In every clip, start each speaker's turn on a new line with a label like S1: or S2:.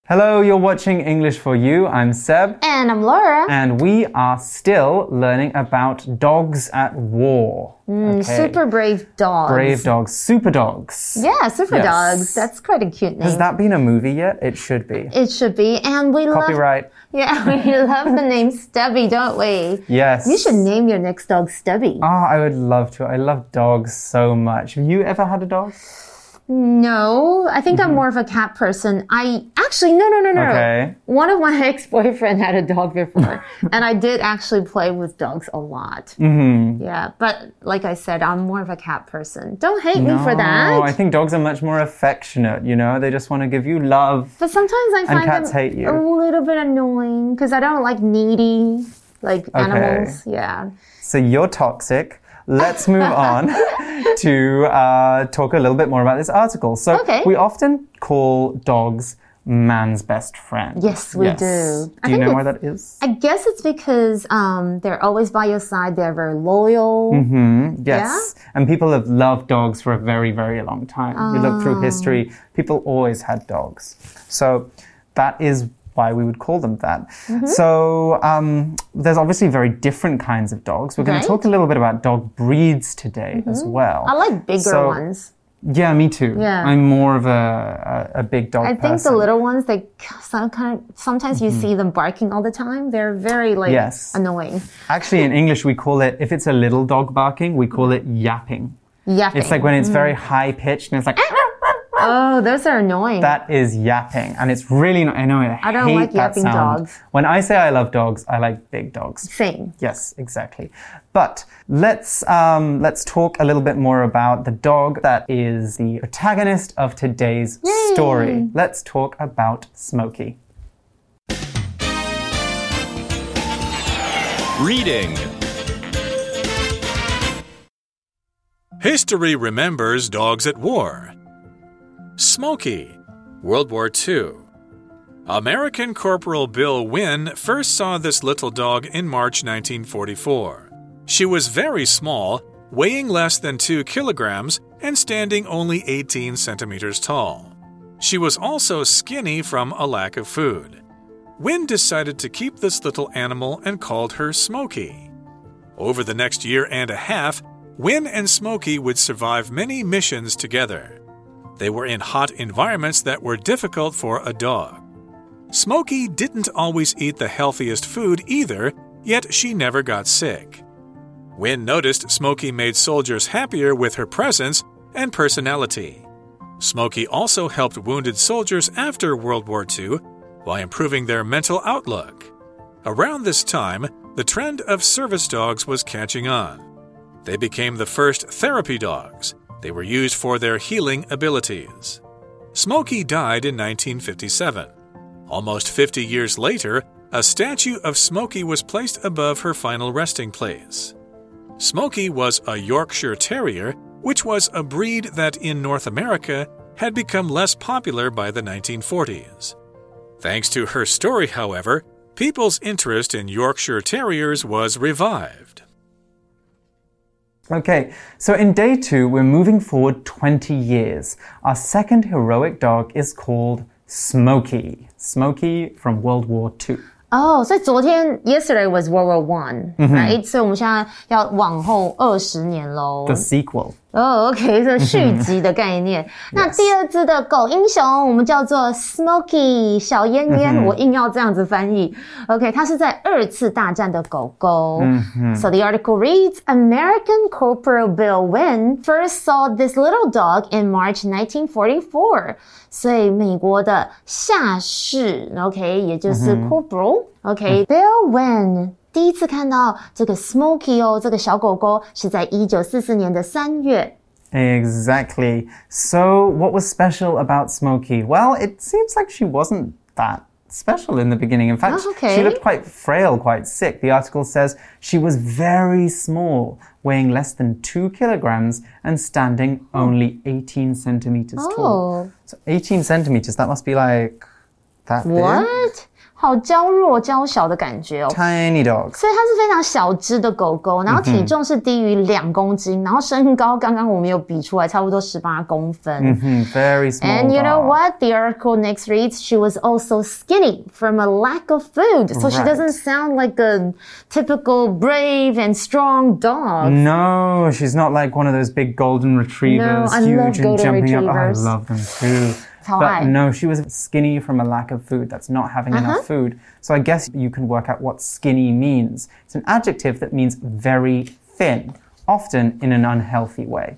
S1: Hello, you're watching English for You. I'm Seb.
S2: And I'm Laura.
S1: And we are still learning about dogs at war.
S2: Super brave dogs.
S1: Brave dogs. Super dogs.
S2: Yeah, super dogs. That's quite a cute name.
S1: Has that been a movie yet? It should be.
S2: It should be. And we
S1: Copyright.
S2: we love the name Stubby, don't we?
S1: Yes.
S2: You should name your next dog Stubby.
S1: Oh, I would love to. I love dogs so much. Have you ever had a dog?
S2: No, I think I'm more of a cat person. No.
S1: Okay.
S2: One of my ex-boyfriends had a dog before, and I did actually play with dogs a lot. Yeah, but like I said, I'm more of a cat person. Don't hate me for that.
S1: No, I think dogs are much more affectionate, you know? They just want to give you love.
S2: But sometimes I find
S1: cats hate you.
S2: a little bit annoying because I don't like needy animals. Yeah.
S1: So you're toxic. Let's move on to talk a little bit more about this article. So we often call dogs man's best friend.
S2: Yes, we do.
S1: Do you know why that is?
S2: I guess it's because they're always by your side. They're very loyal.
S1: Yes. Yeah? And people have loved dogs for a very, very long time. You look through history, people always had dogs. So that is why we would call them that. So there's obviously very different kinds of dogs. We're going to talk a little bit about dog breeds today as well.
S2: I like bigger ones.
S1: Yeah, me too.
S2: Yeah.
S1: I'm more of a big dog person.
S2: I think the little ones, sometimes you see them barking all the time. They're very annoying.
S1: Actually, in English, we call it, if it's a little dog barking, we call it yapping.
S2: Yapping.
S1: It's like when it's very high pitched and it's like...
S2: Oh, those are annoying.
S1: That is yapping. And it's really annoying.
S2: I don't like yapping dogs.
S1: When I say I love dogs, I like big dogs.
S2: Same.
S1: Yes, exactly. But let's talk a little bit more about the dog that is the protagonist of today's story. Let's talk about Smokey.
S3: Reading. History remembers dogs at war. Smokey, World War II. American Corporal Bill Wynn first saw this little dog in March 1944. She was very small, weighing less than 2 kilograms and standing only 18 centimeters tall. She was also skinny from a lack of food. Wynn decided to keep this little animal and called her Smokey. Over the next year and a half, Wynn and Smokey would survive many missions together. They were in hot environments that were difficult for a dog. Smokey didn't always eat the healthiest food either, yet she never got sick. Wynn noticed Smokey made soldiers happier with her presence and personality. Smokey also helped wounded soldiers after World War II by improving their mental outlook. Around this time, the trend of service dogs was catching on. They became the first therapy dogs. They were used for their healing abilities. Smokey died in 1957. Almost 50 years later, a statue of Smokey was placed above her final resting place. Smokey was a Yorkshire Terrier, which was a breed that in North America had become less popular by the 1940s. Thanks to her story, however, people's interest in Yorkshire Terriers was revived.
S1: Okay, so in day 2, we're moving forward 20 years. Our second heroic dog is called Smokey. Smokey from World War II.
S2: Oh, 所以yesterday was World War I, right? 所以我们现在要往后20年咯。
S1: The sequel.
S2: OK， 这续集的概念。那第二只的狗英雄，我们叫做 Smokey 小燕燕，我硬要这樣子翻譯。OK， 它是在2次大戰的狗狗。So the article reads, American Corporal Bill Wynn first saw this little dog in March 1944. 所以美國的下士 ，OK， 也就是 Corporal，OK，Bill Wynn。第一次看到這個 Smokey 這個小狗狗是在1944年的3月。
S1: Exactly. So what was special about Smokey? Well, it seems like she wasn't that special in the beginning. In fact, she looked quite frail, quite sick. The article says she was very small, weighing less than 2 kilograms and standing only 18 centimeters tall. So 18 centimeters, that must be like that big.
S2: What? 好嬌弱嬌小的感覺哦
S1: Tiny dogs.
S2: 所以它是非常小隻的狗狗，然後體重是低於2公斤，然後身高剛剛我們有比出來差不多18公分。
S1: Very small.
S2: And you know what? The article next reads, she was also skinny from a lack of food. So she doesn't sound like a typical brave and strong dog.
S1: No, she's not like one of those big golden retrievers,
S2: No, I
S1: huge
S2: love
S1: and
S2: golden
S1: jumping
S2: retrievers.
S1: up. I love them too. But no, she was skinny from a lack of food. That's not having enough food. So I guess you can work out what skinny means. It's an adjective that means very thin, often in an unhealthy way.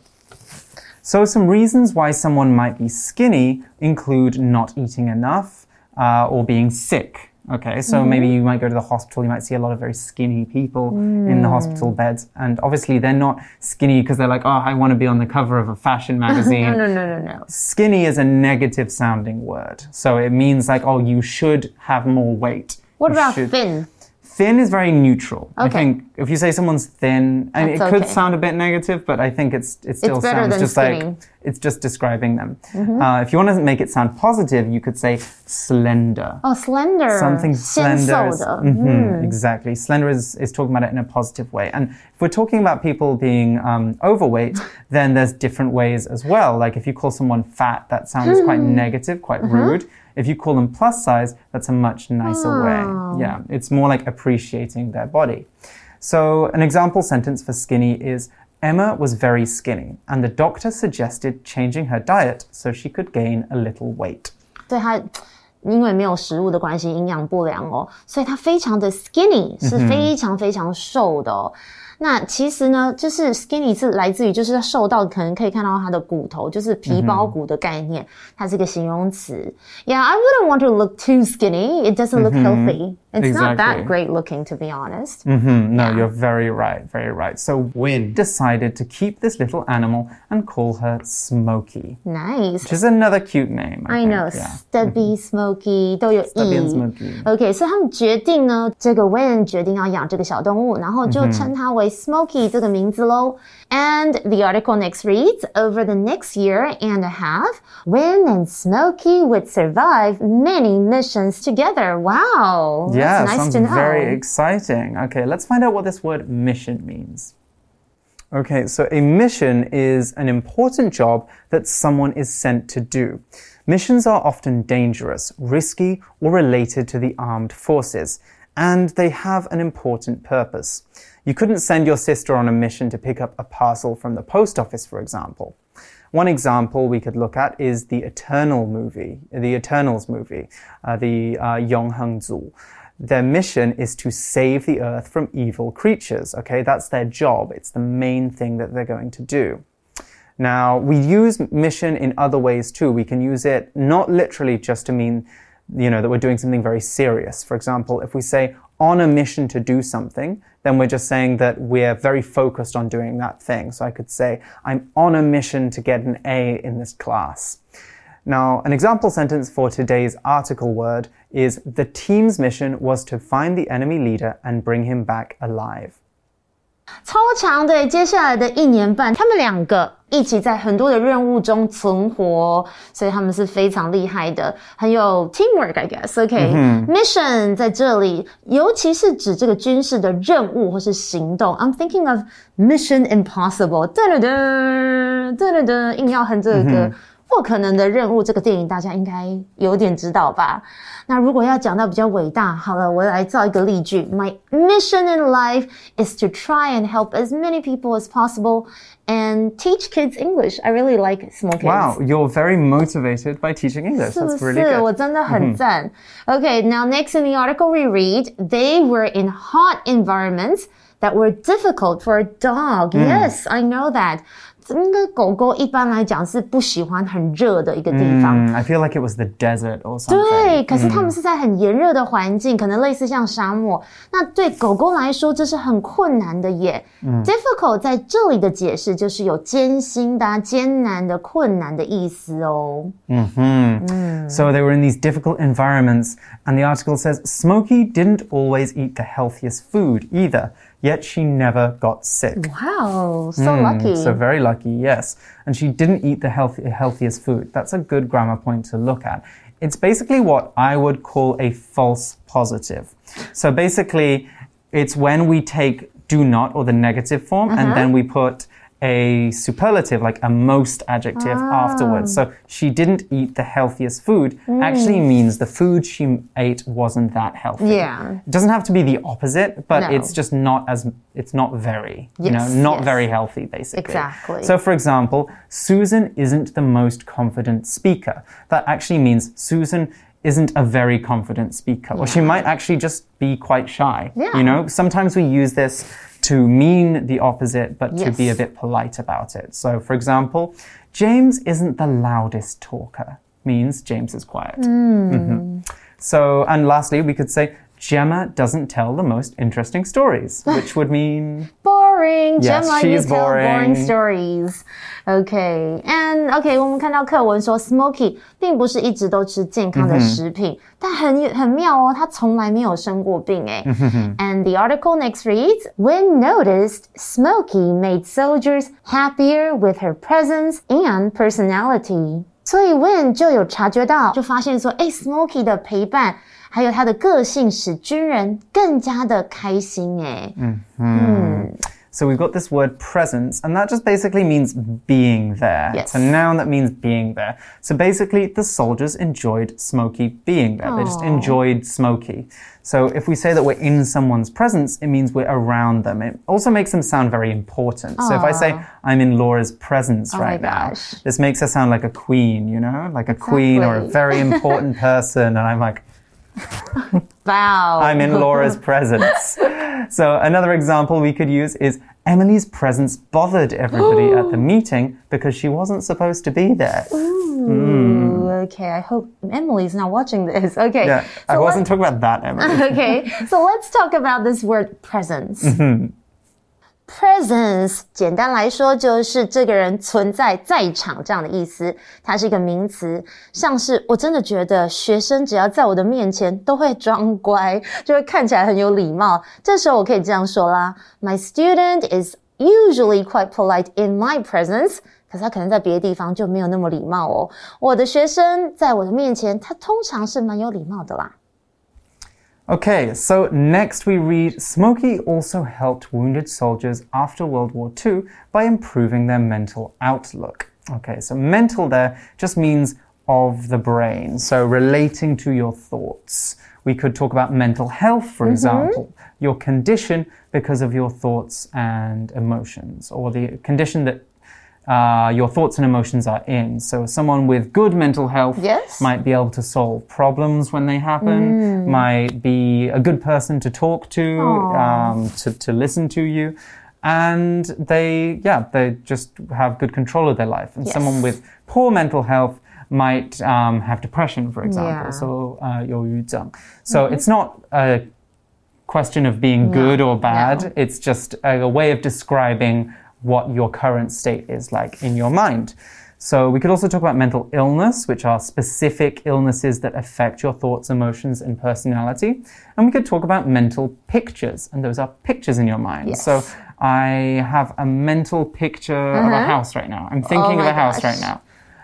S1: So some reasons why someone might be skinny include not eating enough or being sick. Okay, so maybe you might go to the hospital, you might see a lot of very skinny people in the hospital beds. And obviously they're not skinny because they're like, oh, I want to be on the cover of a fashion magazine.
S2: No.
S1: Skinny is a negative sounding word. So it means like, oh, you should have more weight.
S2: What about thin?
S1: Thin is very neutral.
S2: Okay.
S1: I think if you say someone's thin, I mean, it could sound a bit negative, but I think it still sounds just
S2: skinny.
S1: like it's just describing them. If you want to make it sound positive, you could say slender.
S2: Oh, slender.
S1: Something slender.
S2: 纤瘦的.
S1: Exactly. Slender is talking about it in a positive way. And if we're talking about people being overweight, then there's different ways as well. Like if you call someone fat, that sounds quite negative, quite rude. If you call them plus size, that's a much nicer way. Yeah, it's more like appreciating their body. So an example sentence for skinny is, Emma was very skinny, and the doctor suggested changing her diet so she could gain a little weight.
S2: 对她因为没有食物的关係，營養不良哦，所以她非常的 skinny， 是非常非常瘦的哦。那其實呢，就是 skinny 是來自於就是瘦到可能可以看到它的骨頭，就是皮包骨的概念，它是一個形容詞。Yeah, I wouldn't want to look too skinny. It doesn't look healthy. It's not that great looking, to be honest.
S1: No, you're very right, very right. So Win decided to keep this little animal and call her Smokey.
S2: Nice.
S1: Which is another cute name.
S2: I know, Stubby, Smokey 都有
S1: Stubby and Smokey.
S2: OK, 所以他們決定呢，這個 Win 決定要養這個小動物，然後就稱它為 Smokey 這個名字咯。And the article next reads, over the next year and a half, Win and Smokey would survive many missions together. Wow.
S1: Yeah,
S2: that's nice
S1: sounds
S2: to know.
S1: very exciting. Okay, let's find out what this word mission means. Okay, so a mission is an important job that someone is sent to do. Missions are often dangerous, risky, or related to the armed forces, and they have an important purpose. You couldn't send your sister on a mission to pick up a parcel from the post office, for example. One example we could look at is the Eternals movie, the Yonghengzu. Their mission is to save the earth from evil creatures, okay? That's their job. It's the main thing that they're going to do. Now, we use mission in other ways too. We can use it not literally just to mean, you know, that we're doing something very serious. For example, if we say on a mission to do something, then we're just saying that we're very focused on doing that thing. So I could say, I'm on a mission to get an A in this class. Now, an example sentence for today's article word is the team's mission was to find the enemy leader and bring him back alive.
S2: 超强的，接下来的1年半，他们2個一起在很多的任務中存活，所以他們是非常厲害的，很有 teamwork, I guess. Okay, mission 在這裡，尤其是指這個軍事的任務或是行動。I'm thinking of Mission Impossible. 硬要哼這個不可能的任務，這個電影大家應該有點知道吧？那如果要講到比較偉大，好了，我來造一個例句。My mission in life is to try and help as many people as possible and teach kids English. I really like small kids.
S1: Wow, you're very motivated by teaching English. That's really good.
S2: 我真的很讚。Okay, now next in the article we read, they were in hot environments that were difficult for a dog. Yes, I know that. 应該狗狗一般來講是不喜歡很熱的一個地方。
S1: I feel like it was the desert or something.
S2: 對，可是他們是在很炎熱的環境，可能類似像沙漠。那對狗狗來說，這是很困難的耶。Difficult 在這裡的解釋就是有艱辛的、艱難的、困難的意思哦。
S1: So they were in these difficult environments, and the article says Smokey didn't always eat the healthiest food either. Yet she never got sick.
S2: Wow, so lucky.
S1: So very lucky, yes. And she didn't eat the healthiest food. That's a good grammar point to look at. It's basically what I would call a false positive. So basically, it's when we take do not or the negative form and then we put a superlative, like a most adjective afterwards. So she didn't eat the healthiest food actually means the food she ate wasn't that healthy.
S2: Yeah.
S1: It doesn't have to be the opposite, but it's just not very, not very healthy, basically.
S2: Exactly.
S1: So for example, Susan isn't the most confident speaker. That actually means Susan isn't a very confident speaker, or she might actually just be quite shy. Sometimes we use this to mean the opposite, but to be a bit polite about it. So, for example, James isn't the loudest talker, means James is quiet. So, and lastly, we could say, Gemma doesn't tell the most interesting stories, which would mean...
S2: boring.
S1: Yes,
S2: Gemma,
S1: she
S2: you
S1: is
S2: tell
S1: boring
S2: stories. Okay, and okay, 我们看到課文說 Smokey 並不是一直都吃健康的食品，但很妙哦，他從來沒有生過病誒。And the article next reads, When noticed, Smokey made soldiers happier with her presence and personality. 所以 When 就有察覺到，就發現說，Smokey 的陪伴還有他的個性使軍人更加的開心誒。
S1: So we've got this word presence, and that just basically means being there.
S2: Yes.
S1: It's a noun that means being there. So basically, the soldiers enjoyed Smokey being there. They just enjoyed Smokey. So if we say that we're in someone's presence, it means we're around them. It also makes them sound very important. So if I say, I'm in Laura's presence right now, this makes her sound like a queen, like a queen or a very important person. And I'm like...
S2: Wow.
S1: I'm in Laura's presence. So another example we could use is Emily's presence bothered everybody at the meeting because she wasn't supposed to be there.
S2: Okay, I hope Emily's not watching this. Okay.
S1: Yeah,
S2: so
S1: I wasn't talking about that, Emily.
S2: Okay, so let's talk about this word presence. Presence 簡單來說就是這個人存在在場這樣的意思，它是一個名詞，像是我真的覺得學生只要在我的面前都會裝乖，就會看起來很有禮貌，這時候我可以這樣說啦， My student is usually quite polite in my presence， 可是他可能在別的地方就沒有那麼禮貌哦，我的學生在我的面前他通常是蠻有禮貌的啦。
S1: Okay, so next we read, Smokey also helped wounded soldiers after World War II by improving their mental outlook. Okay, so mental there just means of the brain, so relating to your thoughts. We could talk about mental health, for example, your condition because of your thoughts and emotions, or the condition that your thoughts and emotions are in. So someone with good mental health might be able to solve problems when they happen, might be a good person to talk to listen to you. And they just have good control of their life. And someone with poor mental health might have depression, for example. So 憂鬱症. So it's not a question of being good or bad. It's just a way of describing what your current state is like in your mind. So we could also talk about mental illness, which are specific illnesses that affect your thoughts, emotions, and personality. And we could talk about mental pictures, and those are pictures in your mind. So I have a mental picture of a house right now. I'm thinking of a house right now.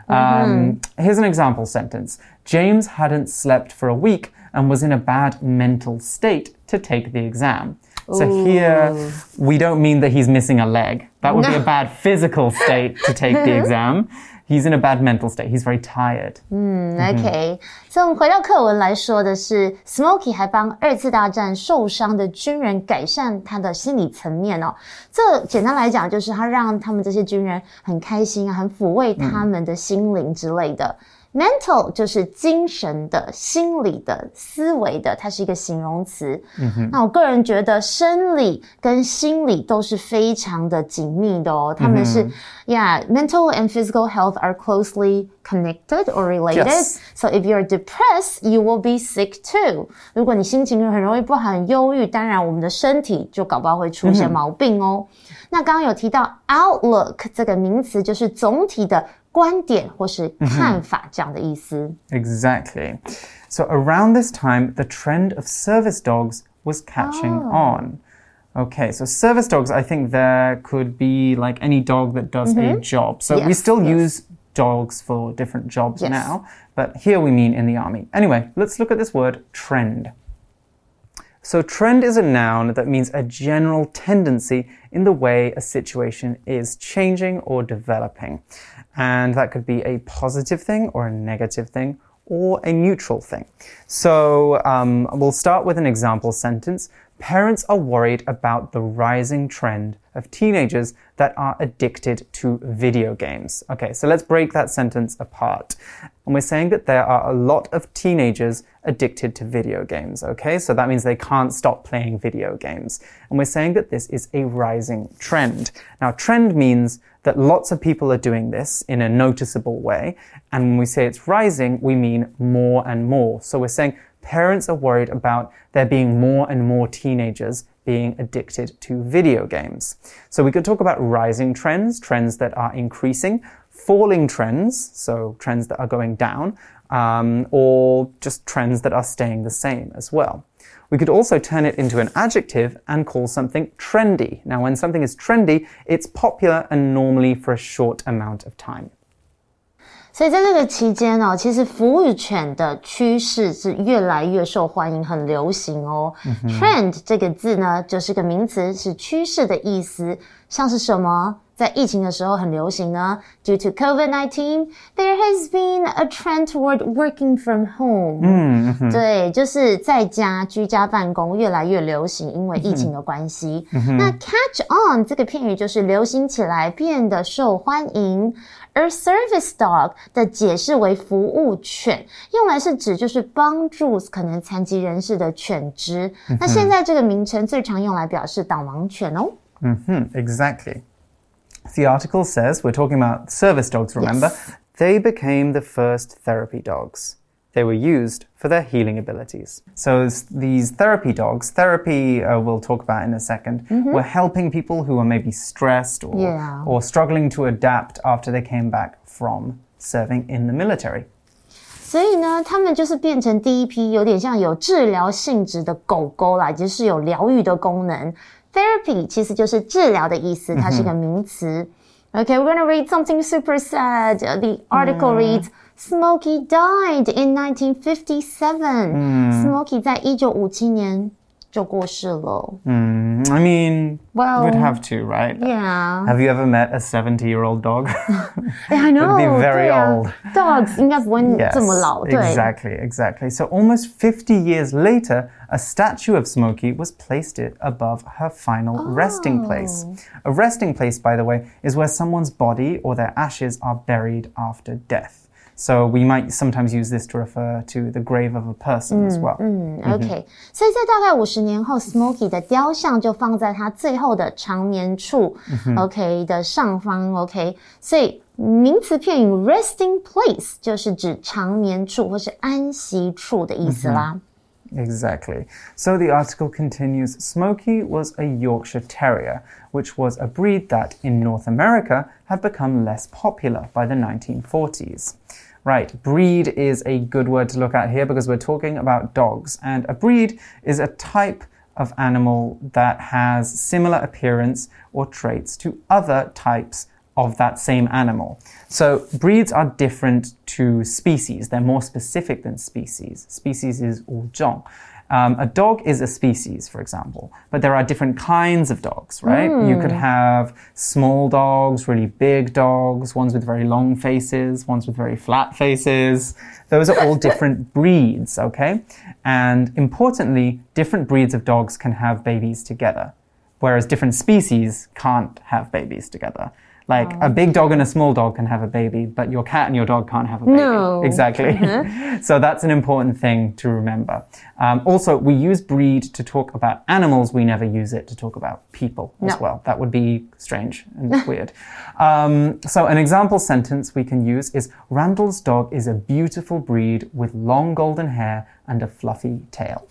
S1: Here's an example sentence. James hadn't slept for a week and was in a bad mental state to take the exam. So here, we don't mean that he's missing a leg. That would be a bad physical state to take the exam. He's in a bad mental state. He's very tired.
S2: Okay. So 我們回到課文來說的是 Smokey 還幫二次大戰受傷的軍人改善他的心理層面哦。這簡單來講就是他讓他們這些軍人很開心啊，很撫慰他們的心靈之類的。Mental 就是精神的、心理的、思維的，它是一個形容詞。那我個人覺得生理跟心理都是非常的緊密的哦。他們是mental and physical health are closely connected or related. So if you're depressed, you will be sick too. 如果你心情很容易不好、很憂鬱，當然我們的身體就搞不好會出現毛病哦。那剛剛有提到 outlook 這個名詞，就是總體的觀點或是看法這樣的意思。
S1: Exactly. So around this time, the trend of service dogs was catching on. Okay, so service dogs, I think there could be like any dog that does a job. So we still use dogs for different jobs now, but here we mean in the army. Anyway, let's look at this word trend. So trend is a noun that means a general tendency in the way a situation is changing or developing. And that could be a positive thing or a negative thing or a neutral thing. So we'll start with an example sentence. Parents are worried about the rising trend of teenagers that are addicted to video games. Okay, so let's break that sentence apart. And we're saying that there are a lot of teenagers addicted to video games, okay? So that means they can't stop playing video games. And we're saying that this is a rising trend. Now, trend means that lots of people are doing this in a noticeable way. And when we say it's rising, we mean more and more. So we're saying parents are worried about there being more and more teenagers being addicted to video games. So we could talk about rising trends, trends that are increasing, falling trends, so trends that are going down, or just trends that are staying the same as well. We could also turn it into an adjective and call something trendy. Now, when something is trendy, it's popular and normally for a short amount of time.
S2: 所以在这个期间哦，其實服務犬的趨勢是越來越受歡迎，很流行哦。Trend 這個字呢，就是個名詞，是趨勢的意思。像是什麼？在疫情的時候很流行呢 Due to COVID-19, there has been a trend toward working from home. 对，就是在家居家辦公越來越流行，因為疫情的關係。那 catch on 這個片語就是流行起來，變得受歡迎。而 service dog 的解釋為服務犬，用來是指就是幫助可能殘疾人士的犬隻。那現在這個名稱最常用來表示導盲犬哦。
S1: Exactly. The article says, we're talking about service dogs, remember?
S2: Yes.
S1: They became the first therapy dogs. They were used for their healing abilities. So these therapy dogs, therapy we'll talk about in a second, were helping people who were maybe stressed or struggling to adapt after they came back from serving in the military.
S2: 所以呢，他们就是变成第一批有點像有治療性質的狗狗啦，就是有療癒的功能。Therapy 其實就是治療的意思，它是個名詞。Okay, we're gonna read something super sad. The article reads, Smokey died in 1957. Smokey 在1957年就過世了。
S1: I mean,
S2: well,
S1: we'd have to, right?
S2: Yeah.
S1: Have you ever met a 70-year-old dog?
S2: Yeah, I know.
S1: It would be very old.
S2: Dogs 應該不會這麼老。
S1: Yes, exactly. So almost 50 years later, a statue of Smokey was placed above her final resting place. A resting place, by the way, is where someone's body or their ashes are buried after death. So we might sometimes use this to refer to the grave of a person as well.
S2: Okay. 所以在大概50年後 Smokey 的雕像就放在他最後的長眠處 OK 的上方 OK 所以名詞片語 resting place 就是指長眠處或是安息處的意思啦。
S1: Exactly. So the article continues, Smokey was a Yorkshire Terrier, which was a breed that, in North America, had become less popular by the 1940s. Right, breed is a good word to look at here because we're talking about dogs. And a breed is a type of animal that has similar appearance or traits to other types of that same animal. So breeds are different to species. They're more specific than species. Species is 物种. A dog is a species, for example, but there are different kinds of dogs, right? You could have small dogs, really big dogs, ones with very long faces, ones with very flat faces. Those are all different breeds, okay? And importantly, different breeds of dogs can have babies together, whereas different species can't have babies together. Like a big dog and a small dog can have a baby, but your cat and your dog can't have a baby.
S2: No.
S1: Exactly. So that's an important thing to remember. Also, we use breed to talk about animals. We never use it to talk about people as well. That would be strange and weird. So an example sentence we can use is, Randall's dog is a beautiful breed with long golden hair and a fluffy tail.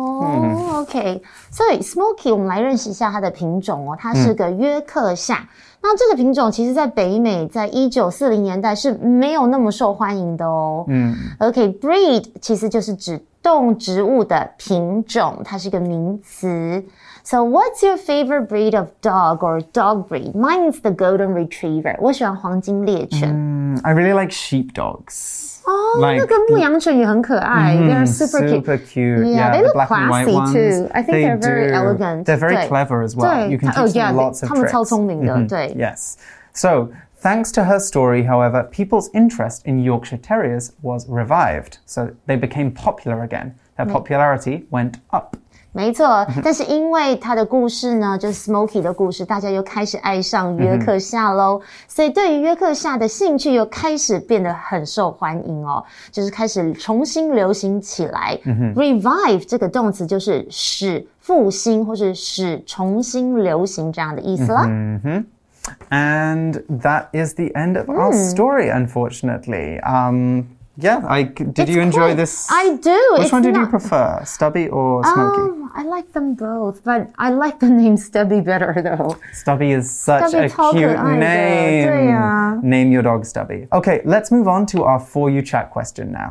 S2: OK. 所以 Smokey 我們來認識一下它的品種哦，它是個約克夏。那這個品種其實在北美在1940年代是沒有那麼受歡迎的哦。OK, breed 其實就是指動植物的品種，它是一個名詞。So what's your favorite breed of dog or dog breed? Mine is the golden retriever. 我喜歡黃金獵犬。
S1: I really like sheepdogs.
S2: 哦，那個牧羊犬也很可愛。They're super
S1: cute.
S2: Yeah, they
S1: the
S2: look
S1: black and white
S2: classy
S1: ones.
S2: too. I think they're very elegant.
S1: They're very clever as well. You can teach them lots of tricks.
S2: 他们超聰明的，對。
S1: Yes. So, thanks to her story, however, people's interest in Yorkshire Terriers was revived. So they became popular again. Their popularity went up.
S2: 沒錯，但是因為他的故事呢，就是 Smokey 的故事，大家又開始愛上約克夏咯。所以對於約克夏的興趣又開始變得很受歡迎哦，就是開始重新流行起來。Revive 這個動詞就是使復興或是使重新流行這樣的意思啦。
S1: And that is the end of our story, unfortunately. Yeah, did you enjoy this?
S2: I do.
S1: Which one did you prefer, Stubby or Smokey?
S2: I like them both, but I like the name Stubby better, though.
S1: Stubby is such a cute name.
S2: 對啊。
S1: Name your dog Stubby. Okay, let's move on to our For You Chat question now.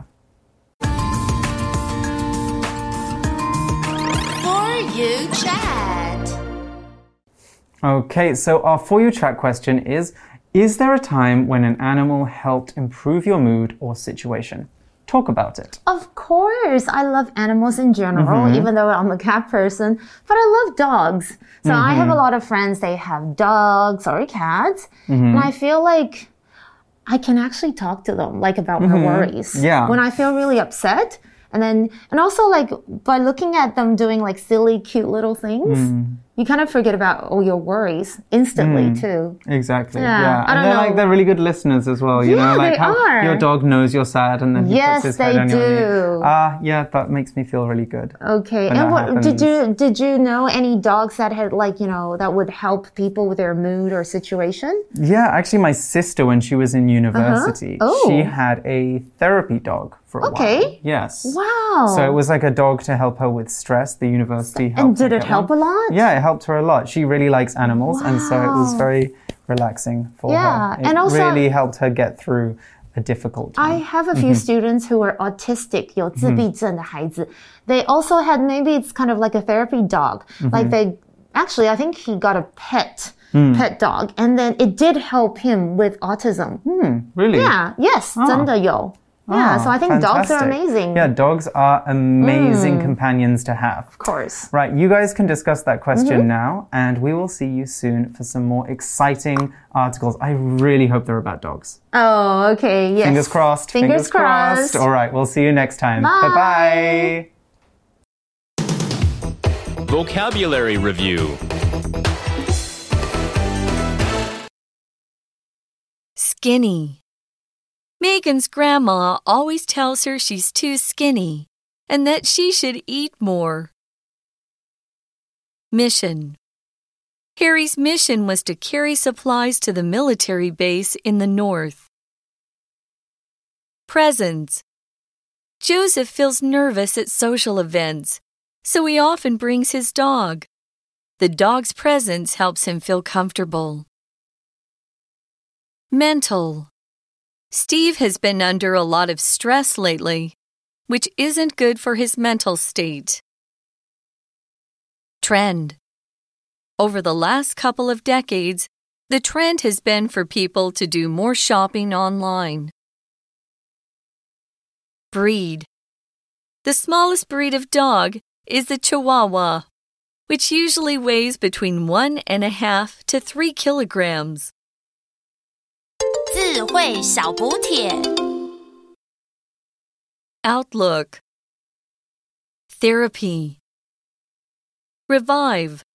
S4: For You Chat.
S1: Okay, so our For You Chat question is there a time when an animal helped improve your mood or situation? Talk about it.
S2: Of course. I love animals in general, even though I'm a cat person. But I love dogs. So I have a lot of friends, they have dogs or cats. And I feel like I can actually talk to them, like about my worries.
S1: Yeah.
S2: When I feel really upset. And also like by looking at them doing like silly, cute little things, you kind of forget about all your worries instantly too.
S1: Exactly.
S2: Yeah. I don't know.
S1: They're really good listeners as well. You know, like
S2: they
S1: how
S2: are.
S1: Your dog knows you're sad and then he puts his head on your knee. Yeah, that makes me feel really good.
S2: Okay. And what did you know any dogs that had like, you know, that would help people with their mood or situation?
S1: Yeah, actually my sister, when she was in university, she had a therapy dog for a while. Yes.
S2: Wow.
S1: So it was like a dog to help her with stress. The university helped her.
S2: And did it help a lot?
S1: Yeah, it helped her a lot. She really likes animals, and so it was very relaxing for her. It
S2: and also
S1: really helped her get through a difficult time.
S2: I have a few students who are autistic, 有自闭症的孩子. They also had, maybe it's kind of like a therapy dog. Like actually, I think he got a pet dog, and then it did help him with autism.
S1: Really?
S2: Yeah, yes, 真的有. Yeah, so I think dogs are amazing.
S1: Yeah, dogs are amazing companions to have.
S2: Of course.
S1: Right, you guys can discuss that question now, and we will see you soon for some more exciting articles. I really hope they're about dogs.
S2: Oh, okay, yes.
S1: Fingers crossed.
S2: Fingers crossed.
S1: All right, we'll see you next time.
S2: Bye.
S5: Bye-bye. Vocabulary Review.
S4: Skinny. Megan's grandma always tells her she's too skinny and that she should eat more. Mission. Harry's mission was to carry supplies to the military base in the north. Presents. Joseph feels nervous at social events, so he often brings his dog. The dog's presence helps him feel comfortable. Mental. Steve has been under a lot of stress lately, which isn't good for his mental state. Trend. Over the last couple of decades, the trend has been for people to do more shopping online. Breed. The smallest breed of dog is the Chihuahua, which usually weighs between 1.5 to 3 kilograms.
S6: 智慧小補帖
S4: Outlook. Therapy. Revive.